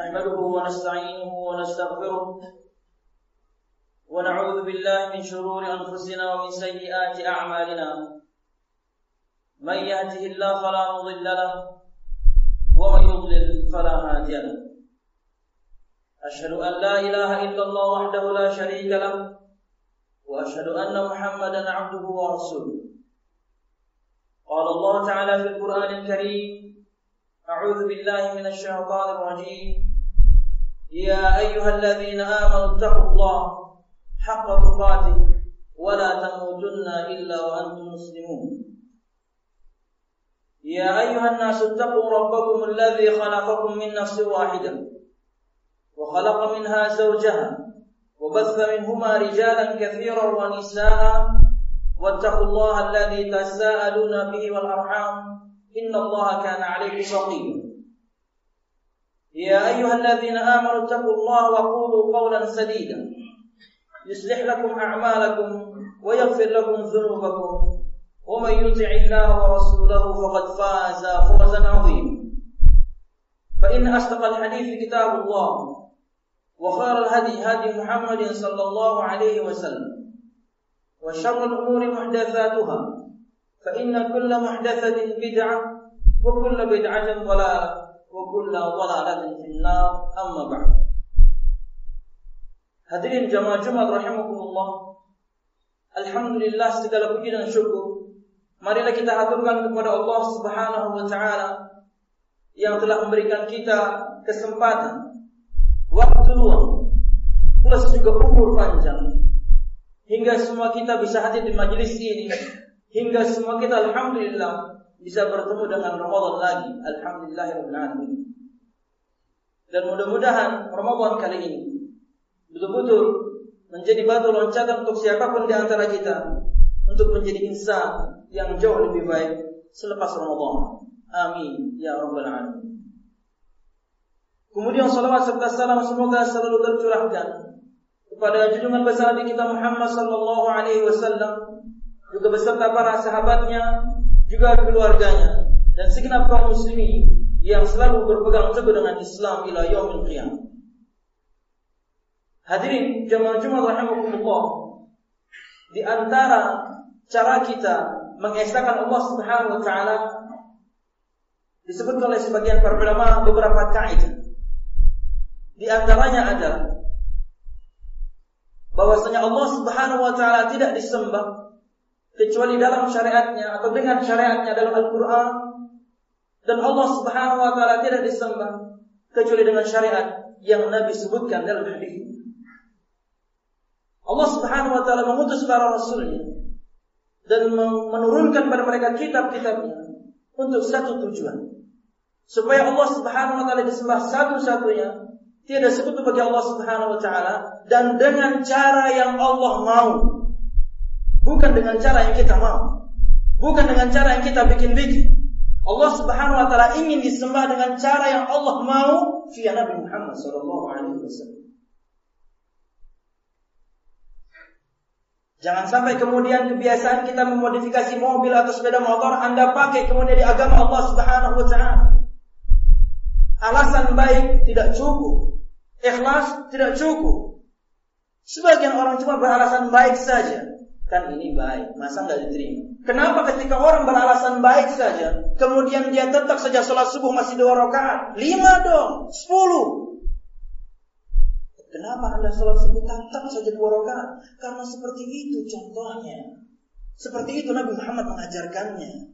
نحمده ونستعينه ونستغفره ونعوذ بالله من شرور أنفسنا ومن سيئات أعمالنا من يهده الله فلا مضل له ومن يضلل فلا هادي له أشهد أن لا إله إلا الله وحده لا شريك له وأشهد أن محمدا عبده ورسوله قال الله تعالى في القرآن الكريم أعوذ بالله من الشيطان الرجيم يا أيها الذين آمنوا اتقوا الله حق تقاته ولا تموتن إلا وأنتم مسلمون يا أيها الناس اتقوا ربكم الذي خلقكم من نفس واحدة وخلق منها زوجها وبث منهما رجالا كثيرا ونساء واتقوا الله الذي تساءلون به والأرحام إن الله كان عليكم رقيبا يا أيها الذين آمنوا اتقوا الله وقولوا قولا سديدا يصلح لكم أعمالكم ويغفر لكم ذنوبكم ومن يطع الله ورسوله فقد فاز فوزا عظيما فإن أصدق الحديث كتاب الله وخير الهدي هدي محمد صلى الله عليه وسلم وشر الأمور محدثاتها فإن كل محدثة بدعة وكل بدعة ضلالة وكل ضلالة في النار أما بعد. Hadirin jamaah Jumat rahimakumullah. Alhamdulillah, segala puji dan syukur marilah kita aturkan kepada Allah Subhanahu wa taala yang telah memberikan kita kesempatan, waktu luang, plus juga umur panjang hingga semua kita bisa hadir di majelis ini, hingga semua kita alhamdulillah bisa bertemu dengan Ramadan lagi. Alhamdulillahirabbil alamin. Dan mudah-mudahan Ramadan kali ini betul-betul menjadi batu loncatan untuk siapapun di antara kita untuk menjadi insan yang jauh lebih baik selepas Ramadan. Amin ya rabbal alamin. Kemudian salawat serta salam semoga selalu tercurahkan kepada junjungan besar Nabi kita Muhammad sallallahu alaihi wasallam, juga beserta para sahabatnya, juga keluarganya dan segenap kaum muslimin yang selalu berpegang teguh dengan Islam ila yaumil qiyamah. Hadirin jamaah Jumat rahimakumullah, di antara cara kita mengesahkan Allah Subhanahu wa taala disebut oleh sebagian para ulama beberapa kaidah. Di antaranya adalah bahwasanya Allah Subhanahu wa taala tidak disembah kecuali dalam syariatnya atau dengan syariatnya dalam Al-Qur'an, dan Allah Subhanahu wa taala tidak disembah kecuali dengan syariat yang Nabi sebutkan dalam hadis. Allah Subhanahu wa taala mengutus para rasulnya dan menurunkan pada mereka kitab-kitabnya untuk satu tujuan, supaya Allah Subhanahu wa taala disembah satu-satunya, tiada sekutu bagi Allah Subhanahu wa taala, dan dengan cara yang Allah mau, bukan dengan cara yang kita mau, bukan dengan cara yang kita bikin-bikin. Allah Subhanahu wa taala ingin disembah dengan cara yang Allah mau via Nabi Muhammad sallallahu alaihi wasallam. Jangan sampai kemudian kebiasaan kita memodifikasi mobil atau sepeda motor Anda pakai kemudian di agama Allah Subhanahu wa taala. Alasan baik tidak cukup, ikhlas tidak cukup. Sebagian orang cuma beralasan baik saja. Kan ini baik, masa enggak diterima? Kenapa ketika orang beralasan baik saja, kemudian dia tetap saja sholat subuh masih 2 rakaat? 5 dong, 10. Kenapa Anda sholat subuh tetap saja 2 rakaat? Karena seperti itu contohnya. Seperti itu Nabi Muhammad mengajarkannya.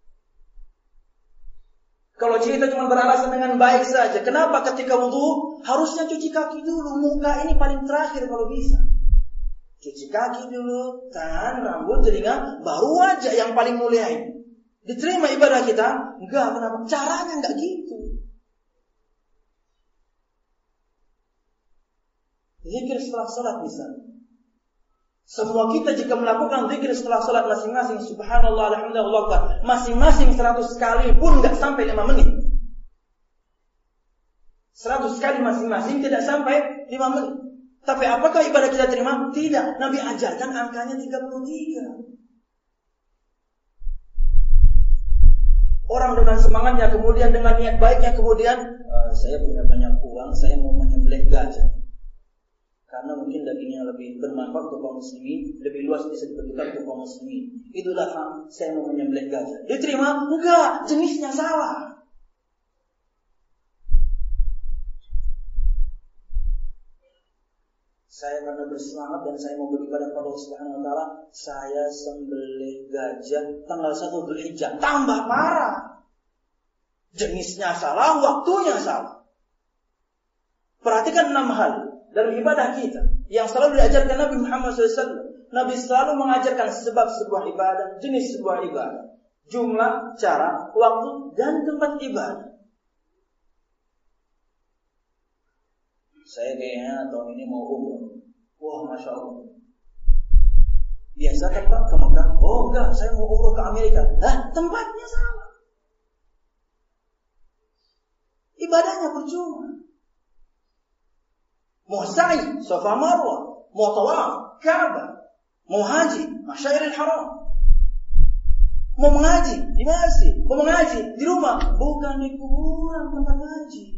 Kalau kita cuma beralasan dengan baik saja, kenapa ketika wudu harusnya cuci kaki dulu? Muka ini paling terakhir kalau bisa. Cuci kaki dulu, tangan, rambut, telinga, baru wajah yang paling mulia ini. Diterima ibadah kita? Enggak, kenapa? Caranya enggak gitu. Zikir setelah sholat misalnya. Semua kita jika melakukan zikir setelah sholat masing-masing, subhanallah, alhamdulillah, Allahu akbar, masing-masing 100 kali pun enggak sampai 5 menit. 100 kali masing-masing tidak sampai 5 menit. Tapi apakah ibadah kita terima? Tidak. Nabi ajarkan angkanya 33. Orang dengan semangatnya, kemudian dengan niat baiknya, kemudian saya punya banyak uang, saya mau menyembelih gajah. Karena mungkin dagingnya lebih bermanfaat untuk kaum muslimin, lebih luas bisa diberikan untuk kaum muslimin. Itulah saya mau menyembelih gajah. Diterima? Enggak, jenisnya salah. Saya karena bersemangat dan saya mau beribadah kepada Allah Subhanahu wa taala, saya sembelih gajah tanggal 1 Dzulhijjah. Tambah parah. Jenisnya salah, waktunya salah. Perhatikan 6 hal dalam ibadah kita yang selalu diajarkan Nabi Muhammad SAW. Nabi selalu mengajarkan sebab sebuah ibadah, jenis sebuah ibadah, jumlah, cara, waktu, dan tempat ibadah. Saya kayaknya tahun ini mau umroh. Wah, Masya Allah. Biasa kan Pak ke Mekah? Oh enggak, saya mau umroh ke Amerika. Tempatnya salah. Ibadahnya percuma. Mau sa'i, Safa Marwah, mau tawaf, Ka'bah, mau haji, Masyairil Haram. Mau mengaji di masjid, mau mengaji di rumah, bukan di kuburan tempat haji.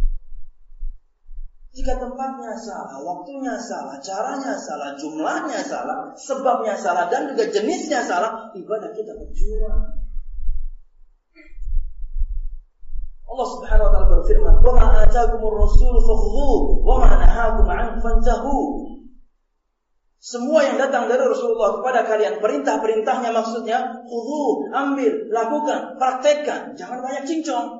Jika tempatnya salah, waktunya salah, caranya salah, jumlahnya salah, sebabnya salah, dan juga jenisnya salah, ibadah kita percuma. Allah Subhanahu wa taala berfirman, "Wa ma ataakumur rasul fakhudhuhu wa ma nahakum 'anhu fantahu." Semua yang datang dari Rasulullah kepada kalian, perintah-perintahnya maksudnya, khudhu, ambil, lakukan, praktekkan, jangan banyak cincong.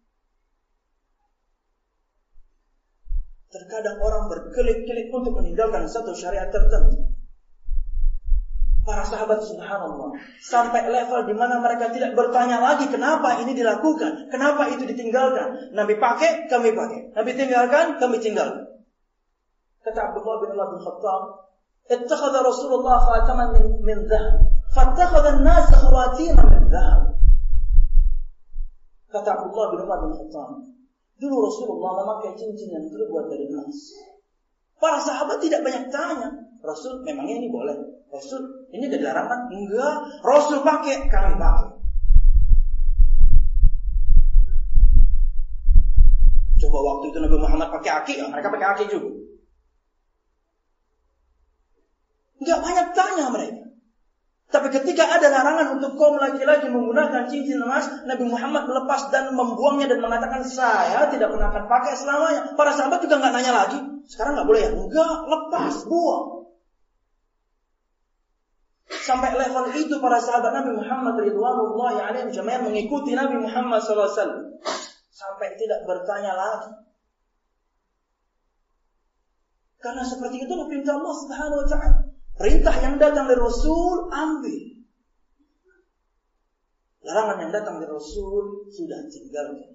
Terkadang orang berkelit-kelit untuk meninggalkan satu syariat tertentu. Para sahabat subhanallah sampai level di mana mereka tidak bertanya lagi kenapa ini dilakukan, kenapa itu ditinggalkan. Nabi pakai, kami pakai. Nabi tinggalkan, kami tinggalkan. Kata Abdullah bin Umar bin Khattab, "Ittakhadha Rasulullah khataman min dhahab, fattakhadha an-nas khawatima min dhahab." Kata Abdullah bin Umar bin Khattab, dulu Rasulullah memakai cincin yang terbuat dari emas. Para sahabat tidak banyak tanya, Rasul memangnya ini boleh? Rasul ini ada larangan? Enggak. Rasul pakai, kami pakai. Coba waktu itu Nabi Muhammad pakai aki, mereka pakai aki juga. Enggak banyak tanya mereka. Tapi ketika ada larangan untuk kaum laki-laki menggunakan cincin emas, Nabi Muhammad melepas dan membuangnya dan mengatakan, saya tidak pernah akan pakai selamanya. Para sahabat juga nggak nanya lagi, sekarang nggak boleh ya? Enggak, lepas, buang. Sampai level itu para sahabat Nabi Muhammad ridwanullahi alaihim jami'an mengikuti Nabi Muhammad SAW. Sampai tidak bertanya lagi. Karena seperti itu perintah Allah Subhanahu wa taala. Perintah yang datang dari Rasul, ambil. Larangan yang datang dari Rasul, sudah tinggalkan.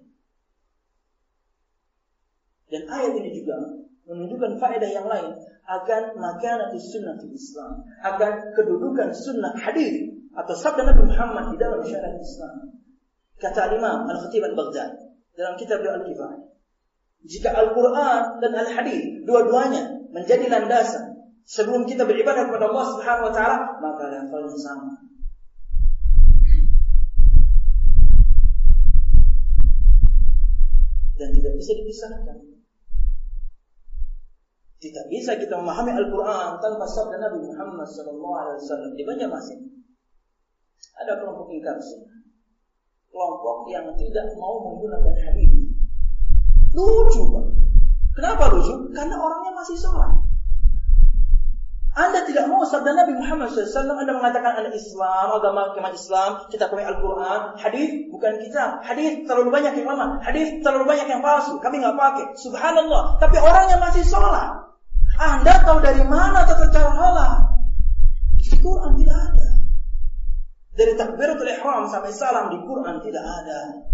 Dan ayat ini juga menunjukkan faedah yang lain akan makanatus sunnah di Islam, akan kedudukan sunnah hadis atau sabda Nabi Muhammad di dalam syariat Islam. Kata Imam Al-Khatib Al-Baghdadi dalam kitab Al-Kifayah, jika Al-Quran dan Al-Hadis dua-duanya menjadi landasan sebelum kita beribadah kepada Allah Subhanahu wa taala, maka levelnya sama. Dan tidak bisa dipisahkan. Tidak bisa kita memahami Al-Quran tanpa sabda Nabi Muhammad SAW. Di Banjarmasin ada kelompok ingkar sunnah, kelompok yang tidak mau menggunakan hadis. Lucu Pak. Kenapa lucu? Karena orangnya masih sholat. Anda tidak mau sabda Nabi Muhammad SAW. Anda mengatakan Anda Islam, agama Islam, kita pakai Al-Quran. Hadis bukan kita. Hadis terlalu banyak yang lama. Hadis terlalu banyak yang palsu. Kami nggak pakai. Subhanallah. Tapi orangnya masih sholat. Anda tahu dari mana tata cara halal? Di Quran tidak ada. Dari takbiratul ihram sampai salam di Quran tidak ada.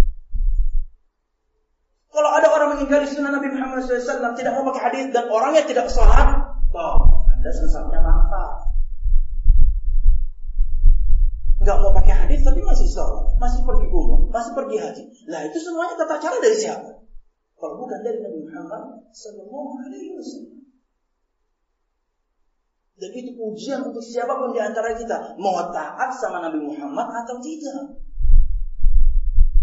Kalau ada orang mengingkari sunnah Nabi Muhammad SAW, tidak mau pakai hadis dan orangnya tidak sholat, Anda sesatnya mantap. Enggak mau pakai hadis tapi masih sholat, masih pergi umrah, masih pergi haji. Lah itu semuanya tata cara dari siapa? Kalau bukan dari Nabi Muhammad SAW. Dan itu ujian untuk siapapun di antara kita, mau taat sama Nabi Muhammad atau tidak.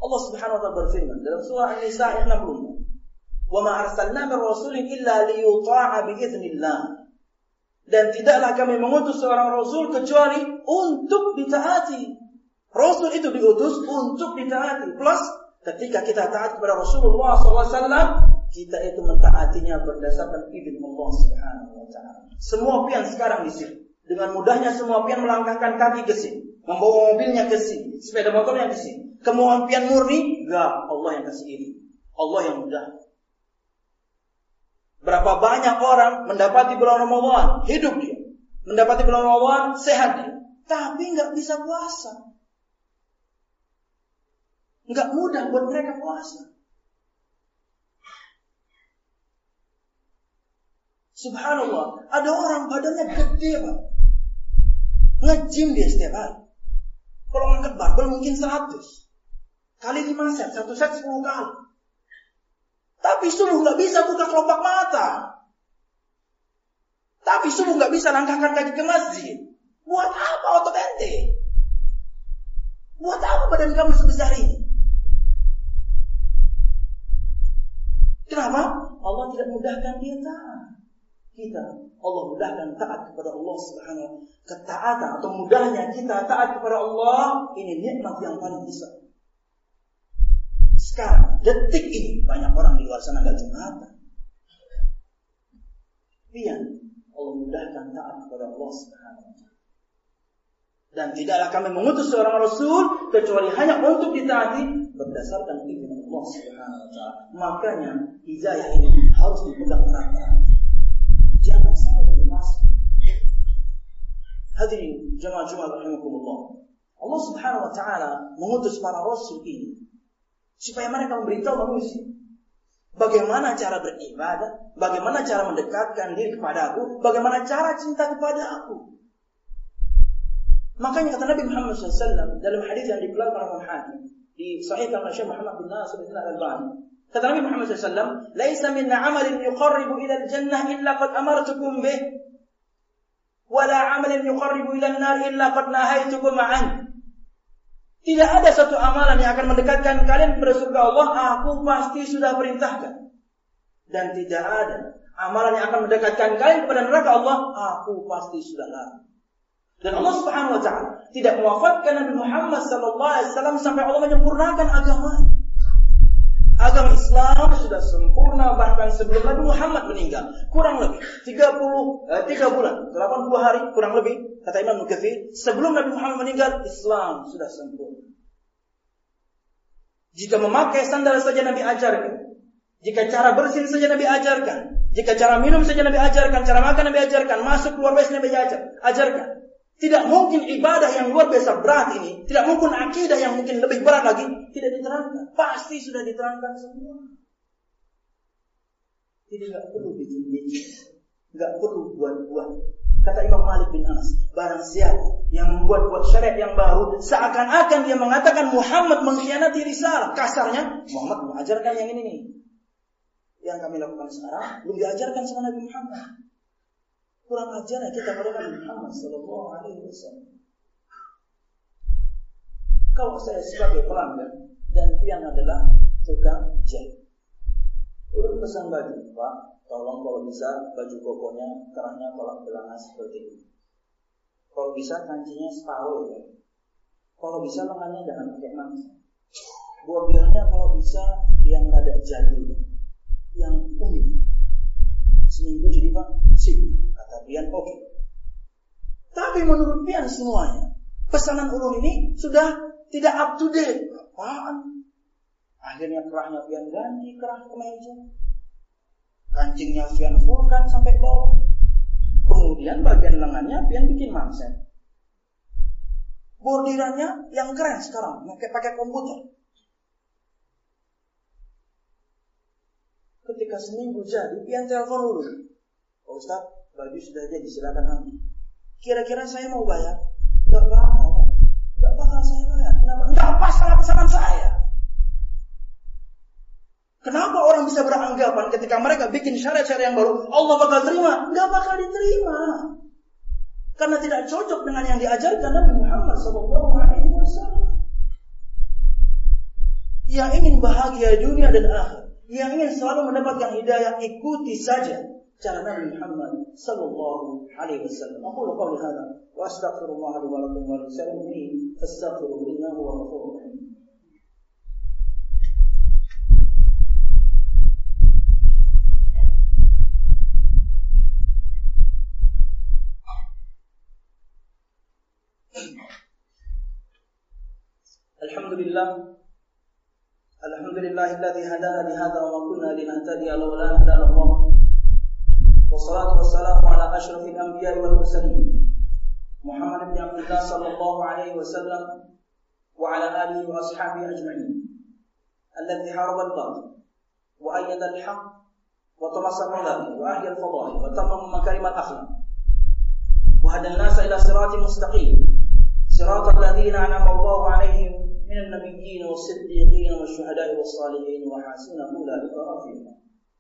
Allah Subhanahu wa taala berfirman dalam surah An-Nisa ayat 60. "Wa ma arsalna min rasulin illa liyuta'a bi idznillah." Dan tidaklah kami mengutus seorang rasul kecuali untuk ditaati. Rasul itu diutus untuk ditaati. Plus ketika kita taat kepada Rasulullah SAW, kita itu mentaatinya berdasarkan izin Allah Subhanahu wa taala. Semua pian sekarang di sini. Dengan mudahnya semua pian melangkahkan kaki ke sini, membawa mobilnya ke sini, sepeda motornya ke sini. Kemauan pian murni, enggak, Allah yang kasih ini. Allah yang mudah. Berapa banyak orang mendapati bulan Ramadan, hidup dia. Mendapati bulan Ramadan, sehat dia. Tapi enggak bisa puasa. Enggak mudah buat mereka puasa. Subhanallah, ada orang badannya gede, Pak. Nge-gym dia setiap hari. Kalau ngangkat barbel mungkin 100. Kali 5 set, 1 set 10 kali. Tapi subuh gak bisa buka kelopak mata. Tapi subuh gak bisa langkahkan kaki ke masjid. Buat apa otot ente? Buat apa badan kamu sebesar ini? Kenapa? Allah tidak mudahkan dia taat. Allah mudahkan taat kepada Allah Subhanahu wa taala. Ketaatan atau mudahnya kita taat kepada Allah, ini nikmat yang paling besar. Sekarang, detik ini banyak orang di luar sana gak Jumatan. Pian Allah mudahkan taat kepada Allah Subhanahu wa taala. Dan tidaklah kami mengutus seorang rasul kecuali hanya untuk ditaati berdasarkan izin Allah Subhanahu wa taala. Makanya hidayah ini harus dipegang erat-erat. Jangan sampai dilepaskan. Hadirin jemaah Jumat rahimakumullah. Allah Subhanahu wa taala mengutus para rasul ini supaya mereka memberitahu manusia bagaimana cara beribadah, bagaimana cara mendekatkan diri kepada Aku, bagaimana cara cinta kepada Aku. Makanya kata Nabi Muhammad SAW dalam hadis yang dikeluarkan oleh Imam Hakim di Sahih Syekh Muhammad bin Nasir bin Al-Albani, kata Nabi Muhammad SAW, "Laisa min 'amalin yuqarribu ila al-jannah illa qad amartukum bih, wa la 'amalin yuqarribu ila an-nar illa qad nahaitukum 'an." Tidak ada satu amalan yang akan mendekatkan kalian kepada surga Allah, Aku pasti sudah perintahkan. Dan tidak ada amalan yang akan mendekatkan kalian kepada neraka Allah, Aku pasti sudah larang. Dan Allah Subhanahu wa taala tidak mewafatkan Nabi Muhammad sallallahu alaihi wasallam sampai Allah menyempurnakan agama. Agama Islam sudah sempurna bahkan sebelum Nabi Muhammad meninggal. Kurang lebih 3 bulan, 80 hari kurang lebih, kata Imam Nukathir, sebelum Nabi Muhammad meninggal, Islam sudah sempurna. Jika memakai sandal saja Nabi ajarkan. Jika cara bersin saja Nabi ajarkan. Jika cara minum saja Nabi ajarkan. Cara makan Nabi ajarkan. Masuk keluar biasa Nabi ajarkan. Tidak mungkin ibadah yang luar biasa berat ini, tidak mungkin akidah yang mungkin lebih berat lagi, tidak diterangkan. Pasti sudah diterangkan semua. Jadi gak perlu bikin-bikin, gak perlu buat-buat. Kata Imam Malik bin Anas, barang siapa yang membuat-buat syariat yang baru, seakan-akan dia mengatakan Muhammad mengkhianati risalah. Kasarnya, Muhammad mengajarkan yang ini nih. Yang kami lakukan sekarang, belum diajarkan sama Nabi Muhammad. Kurang ajar kita pada Nabi Muhammad sallallahu alaihi wasallam. Kalau saya sebagai pelanggan dan pian adalah tukang jahit, ulun pesan baju, Pak, tolong kalau bisa baju kokonya kerahnya tolak belakang seperti ini. Kalau bisa kancinya separuh ya. Kalau bisa lengannya jangan pakai mangsa. Bordirnya kalau bisa yang rada jadul, yang unik. Seminggu jadi Pak, sip. Kata pian oke. Tapi menurut pian semuanya, pesanan ulun ini sudah tidak up to date. Apaan? Akhirnya kerahnya pian ganti kerah kemeja. Kancingnya pian fullkan sampai bawah. Kemudian bagian lengannya pian bikin mangset. Bordirannya yang keren sekarang, pakai komputer. Ketika seminggu jadi, pian telepon dulu. Pak Ustaz, baju sudah jadi, silakan ambil. Kira-kira saya mau bayar? Enggak bakal saya bayar. Kenapa? Enggak pas sama pesanan saya. Kenapa orang bisa beranggapan ketika mereka bikin syariat-syariat yang baru, Allah bakal terima? Enggak bakal diterima. Karena tidak cocok dengan yang diajarkan Nabi Muhammad SAW. yang ingin bahagia dunia dan akhir, yang ingin selalu mendapatkan hidayah, ikuti saja cara Nabi Muhammad sallallahu alaihi wasallam. Aqulu qawli hadza wa astaghfirullah li wa lakum wa lisa'il mu'minin fastaghfiruhu innahu huwal ghafurur rahim. Alhamdulillahilladzi hadana li hadza wa ma kunna linahtadiya lawla an hadana Allah. Wassalatu wassalamu ala asyrafil anbiya'i wal mursalin Muhammad ibn Abdullah sallallahu alaihi wasallam wa ala alihi wa ashabihi ajma'in alladzi haraba al-batil wa ayyada al-haqq wa tamassaka bihi wa ahya al-fadail wa tamama makarim al-akhlaq wa hada an-nasa ila siratin mustaqim siratal ladzina an'ama Allahu 'alaihim minal nabiyyin was-siddiqin wasyuhada'i was-salihin wa hasuna ulaika rafiqa.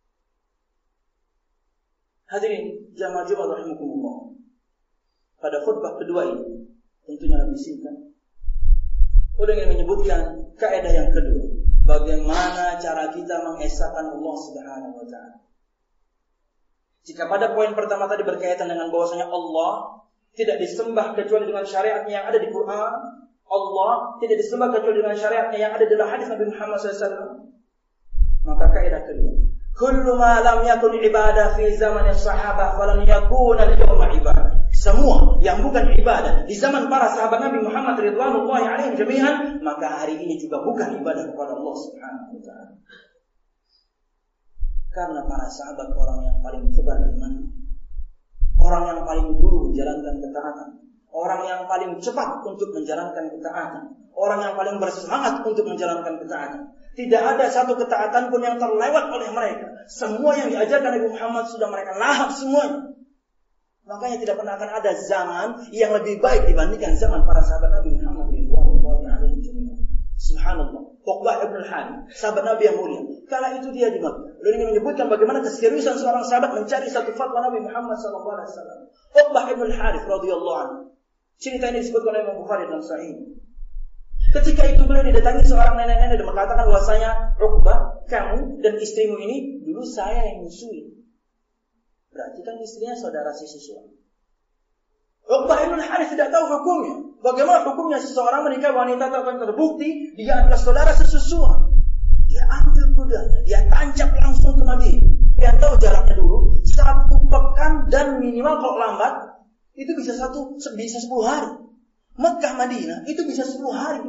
Hadirin jamaah Jumat rahimakumullah. Pada khutbah kedua ini tentunya lebih singkat. Udah ingin menyebutkan kaidah yang kedua, bagaimana cara kita mengesahkan Allah Subhanahu wa taala. Jika pada poin pertama tadi berkaitan dengan bahwasanya Allah tidak disembah kecuali dengan syariatnya yang ada di Quran, Allah tidak disembah kecuali dengan syariatnya yang ada dalam hadis Nabi Muhammad SAW. Maka kaidah kedua, kullu ma lam yakun ibadah fi zaman as-sahabah falan yakun al-yawma ibadah. Semua yang bukan ibadah di zaman para sahabat Nabi Muhammad ridwanullahi alaihim jami'an, maka hari ini juga bukan ibadah kepada Allah Subhanahu wa taala. Karena para sahabat orang yang paling tebar iman, orang yang paling dulu menjalankan ketaatan, orang yang paling cepat untuk menjalankan ketaatan, orang yang paling bersemangat untuk menjalankan ketaatan. Tidak ada satu ketaatan pun yang terlewat oleh mereka. Semua yang diajarkan Nabi Muhammad sudah mereka lahap semuanya. Makanya tidak pernah akan ada zaman yang lebih baik dibandingkan zaman para sahabat Nabi Muhammad radhiyallahu anhu. Subhanallah. Uqbah ibn al-Harith, sahabat Nabi yang mulia. Kala itu dia di Makkah. Lalu ingin menyebutkan bagaimana keseriusan seorang sahabat mencari satu fatwa Nabi Muhammad sallallahu alaihi wasallam. Uqbah ibn al-Harith radhiyallahu anhu. Cerita ini disebutkan oleh Imam Bukhari dalam Sahih. Ketika itu beliau didatangi seorang nenek-nenek dan mengatakan bahwasanya Uqbah, kamu dan istrimu ini dulu saya yang musuhi. Berarti kan istrinya saudara si siswa. Uqbah ibn al-Harith tidak tahu hukumnya. Bagaimana hukumnya seseorang menikah wanita tak terbukti dia adalah saudara sesusua. Dia ambil kuda, dia tancap langsung ke Madinah. Dia tahu jaraknya dulu 1 pekan dan minimal kalau lambat itu bisa 10 hari. Mekah Madinah itu bisa 10 hari.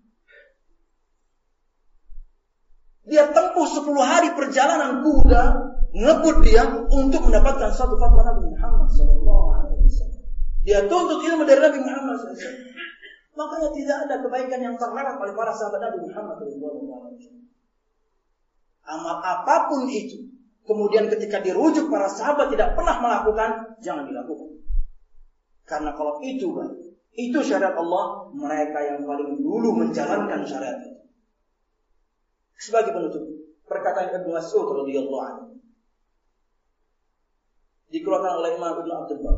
Dia tempuh 10 hari perjalanan kuda, ngebut dia untuk mendapatkan satu fatwa Nabi Muhammad SAW. Dia tuntut ilmu dari Nabi Muhammad SAW. Makanya tidak ada kebaikan yang terlewat oleh para sahabat Nabi Muhammad SAW. Amal apapun itu, kemudian ketika dirujuk para sahabat tidak pernah melakukan, jangan dilakukan. Karena kalau itu baik, itu syariat Allah, mereka yang paling dulu menjalankan syariat itu. Sebagai penutup, perkataan Ibnu Mas'ud radhiyallahu anhu dikeluarkan oleh Imam Ibnu Abdul Bar.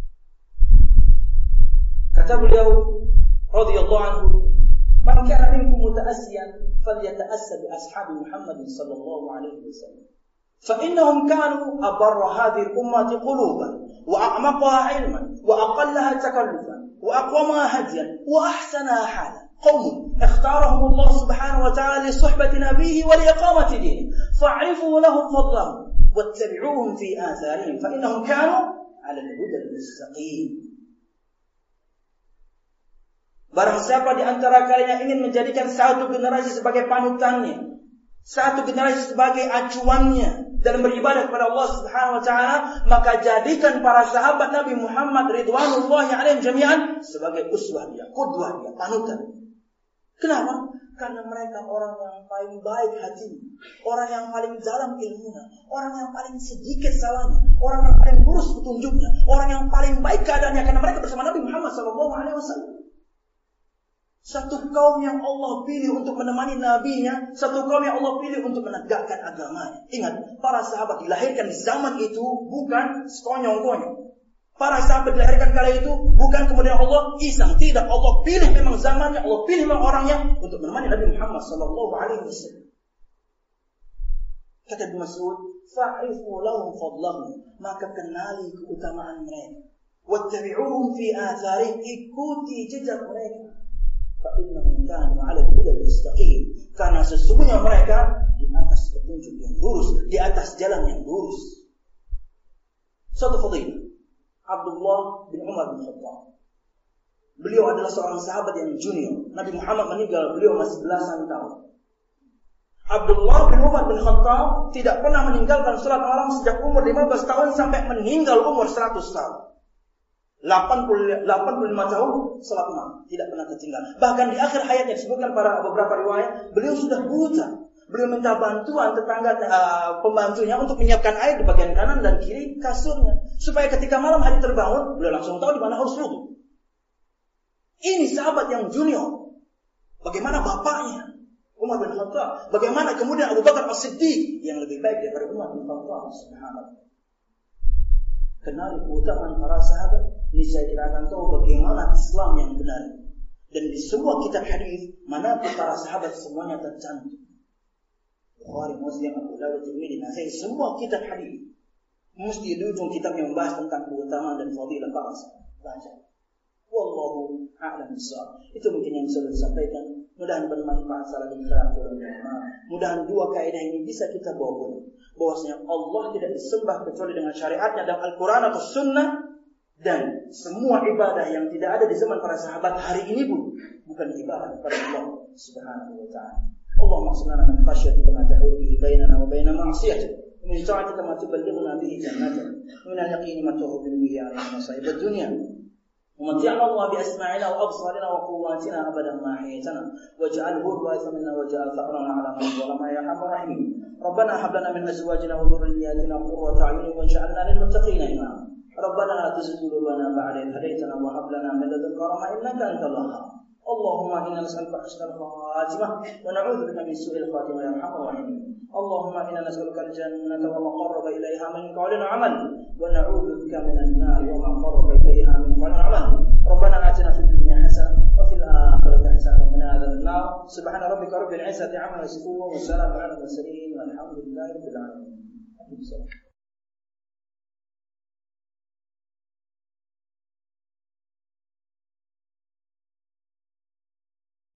Kata beliau radhiyallahu anhu, "Man kana minkum muta'assiyan falyata'assa bi ashabi Muhammad sallallahu alaihi wasallam. Fa innahum kanu abarra hadhihi al-ummati quluban wa a'maqaha 'ilman wa aqallaha takallufan wa aqwamaha hadiyan wa ahsanaha halan. قوم اختارهم الله سبحانه وتعالى لصحبة نبيه ولإقامة دينه فاعرفوا لهم فضلهم واتبعوهم في آثارهم فإنهم كانوا على الهدى المستقيم." Barang siapa di antara kalian yang ingin menjadikan satu generasi sebagai panutannya, satu generasi sebagai acuannya dalam beribadah kepada Allah Subhanahu wa taala, maka jadikan para sahabat Nabi Muhammad ridwanullahi alaihim jami'an sebagai uswah dia, qudwah dia, panutan. Kenapa? Karena mereka orang yang paling baik hatinya, orang yang paling dalam ilmunya, orang yang paling sedikit salahnya, orang yang paling lurus petunjuknya, orang yang paling baik keadaannya, karena mereka bersama Nabi Muhammad SAW. Satu kaum yang Allah pilih untuk menemani nabinya, satu kaum yang Allah pilih untuk menegakkan agamanya. Ingat, para sahabat dilahirkan di zaman itu bukan sekonyong-konyong. Para sahabat dilahirkan kala itu bukan kemudian Allah iseng, tidak, Allah pilih memang zamannya, Allah pilih memang orangnya untuk menemani Nabi Muhammad sallallahu alaihi wasallam. Kata Ibnu Mas'ud, fa'rifu lahum fadlahum, maka kenali keutamaan mereka. Wattabi'uhum fi atharihim, ikuti jejak mereka. Fa innahum kanu 'ala al-huda al-mustaqim, karena sesungguhnya mereka di atas petunjuk yang lurus, di atas jalan yang lurus. Satu fadilah, Abdullah bin Umar bin Khattab. Beliau adalah seorang sahabat yang junior. Nabi Muhammad meninggal, beliau masih belasan tahun. Abdullah bin Umar bin Khattab tidak pernah meninggalkan salat malam sejak umur 15 tahun sampai meninggal umur 100 tahun. 85 tahun salat malam tidak pernah tertinggal. Bahkan di akhir hayatnya disebutkan pada beberapa riwayat, beliau sudah buta. Beliau minta bantuan tetangga pembantunya untuk menyiapkan air di bagian kanan dan kiri kasurnya, supaya ketika malam hari terbangun, beliau langsung tahu di mana harus wudu. Ini sahabat yang junior. Bagaimana bapaknya Umar bin Khattab? Bagaimana kemudian Abu Bakar As-Siddiq yang lebih baik daripada Umar bin Khattab? Subhanallah. Kenali keutamaan para sahabat, ini saya kira akan tahu bagaimana Islam yang benar. Dan di semua kitab hadis, mana para sahabat semuanya tercantum. Bukhari, Muslim, Abu Dawud, Tirmidzi, Nasai, semua kitab hadis mesti di ujung kitabnya membahas tentang keutamaan dan fadilah para sahabat. Baca. Wallahu a'lam bishawab. Itu mungkin yang sudah disampaikan. Mudah-mudahan bermanfaat salah dan khilaf ulama. Mudah-mudahan dua kaidah ini bisa kita bawa. Bahwasanya Allah tidak disembah kecuali dengan syariatnya dalam Al-Quran atau Sunnah, dan semua ibadah yang tidak ada di zaman para sahabat hari ini pun bukan ibadah kepada Allah Subhanahu wa taala. Allahumma qsim lana min khashyatika ma tahulu bihi bainana wa baina ma'siyatik, wa min ta'atika ma tuballighuna bihi jannatak, wa min al-yaqini ma tuhawwinu bihi 'alaina masa'ib ad-dunya. ومتعنا الله بأسماعنا وأبصارنا وقواتنا أبدا ما أحييتنا واجعله الوارث منا واجعل ثأرنا على من ظلمنا يا أرحم الراحمين ربنا هب لنا من أزواجنا وذرياتنا قرة أعين واجعلنا للمتقين إماما ربنا لا تزغ قلوبنا بعد إذ هديتنا وهب لنا من لدنك رحمة إنك أنت الوهاب اللهم إنا نسألك حسن الخاتمة ونعوذ بك من سوء الخاتمة يا أرحم الراحمين اللهم إنا نسألك الجنة وما قرب إليها من قول وعمل ونعوذ بك من النار وما قرب إليها من قول وعمل ربنا آتنا في الدنيا حسنة وفي الآخرة حسنة وقنا عذاب النار سبحان ربك رب العزة عما يصفون وسلام على المرسلين والحمد لله رب العالمين.